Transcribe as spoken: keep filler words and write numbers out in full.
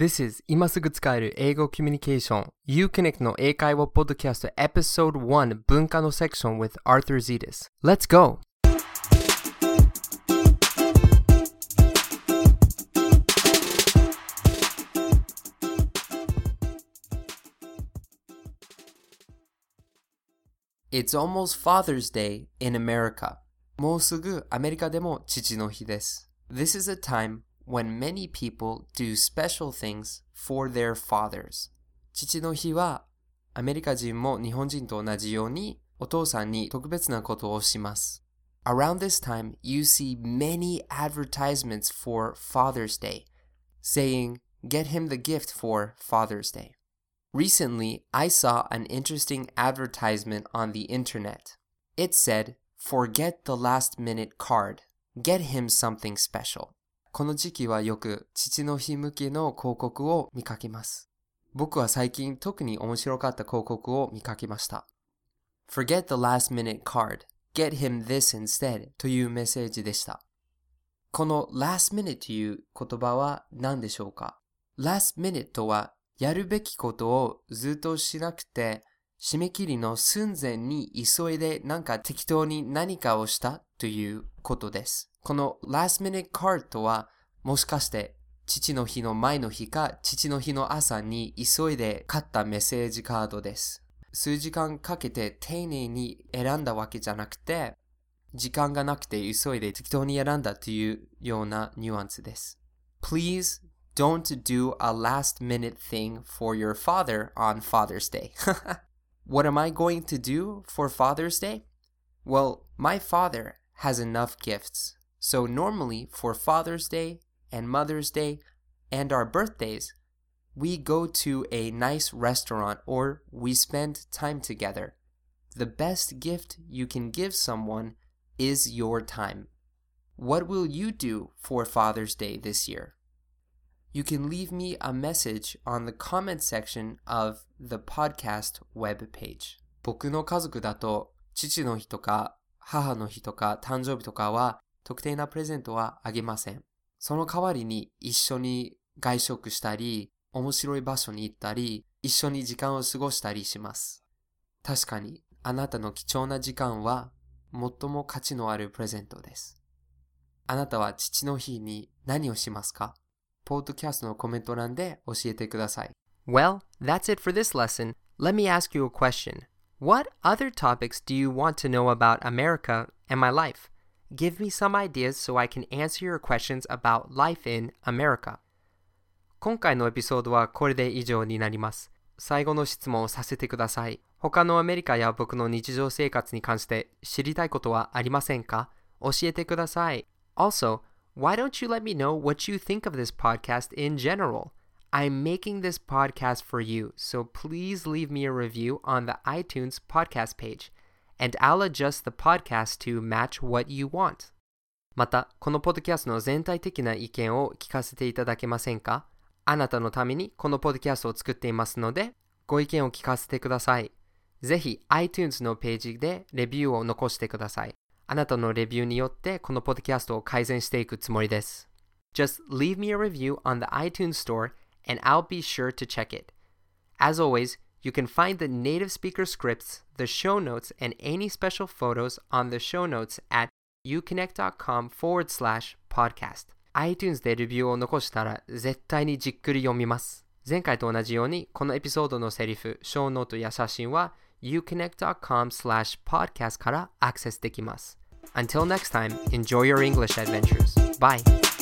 This is 今すぐ使える英語コミュニケーション Uconnect の英会話ポッドキャスト Episode one 文化のセクション with Arthur Zetas. Let's go! It's almost Father's Day in America. もうすぐアメリカでも父の日です。This is a time when many people do special things for their fathers. 父の日はアメリカ人も日本人と同じようにお父さんに特別なことをします。Around this time, you see many advertisements for Father's Day, saying, get him the gift for Father's Day. Recently, I saw an interesting advertisement on the internet. It said, forget the last minute card. Get him something special. この時期はよく父の日向けの広告を見かけます。僕は最近特に面白かった広告を見かけました。Forget the last minute card. Get him this instead というメッセージでした。この last minute という言葉は何でしょうか？ last minute とはやるべきことをずっとしなくて締め切りの寸前に急いでなんか適当に何かをしたということです。この last minute card とはもしかして父の日の前の日か父の日の朝に急いで買ったメッセージカードです。数時間かけて丁寧に選んだわけじゃなくて時間がなくて急いで適当に選んだというようなニュアンスです。Please don't do a last minute thing for your father on Father's Day. What am I going to do for Father's Day? Well, my father has enough gifts. So normally for Father's Day and Mother's Day and our birthdays, we go to a nice restaurant or we spend time together. The best gift you can give someone is your time. What will you do for Father's Day this year?You can leave me a message on the comment section of the podcast web page. 僕の家族だと父の日とか母の日とか誕生日とかは特定なプレゼントはあげません。その代わりに一緒に外食したり、面白い場所に行ったり、一緒に時間を過ごしたりします。確かにあなたの貴重な時間は最も価値のあるプレゼントです。あなたは父の日に何をしますか？ポッドキャストのコメント欄で教えてください。Well, that's it for this lesson. Let me ask you a question. What other topics do you want to know about America and my life? Give me some ideas so I can answer your questions about life in America. 今回のエピソードはこれで以上になります。最後の質問をさせてください。他のアメリカや僕の日常生活に関して知りたいことはありませんか？教えてください。Also,Why don't you let me know what you think of this podcast in general? I'm making this podcast for you, so please leave me a review on the iTunes podcast page, and I'll adjust the podcast to match what you want. また、このポッドキャストの全体的な意見を聞かせていただけませんか？あなたのためにこのポッドキャストを作っていますので、ご意見を聞かせてください。ぜひ iTunes のページでレビューを残してください。あなたのレビューによってこのポッドキャストを改善していくつもりです。Just leave me a review on the iTunes store and I'll be sure to check it. As always, you can find the native speaker scripts, the show notes, and any special photos on the show notes at uconnect.com forward slash podcast. iTunes でレビューを残したら絶対にじっくり読みます。前回と同じようにこのエピソードのセリフ、ショーノートや写真は uconnect.com slash podcast からアクセスできます。Until next time, enjoy your English adventures. Bye.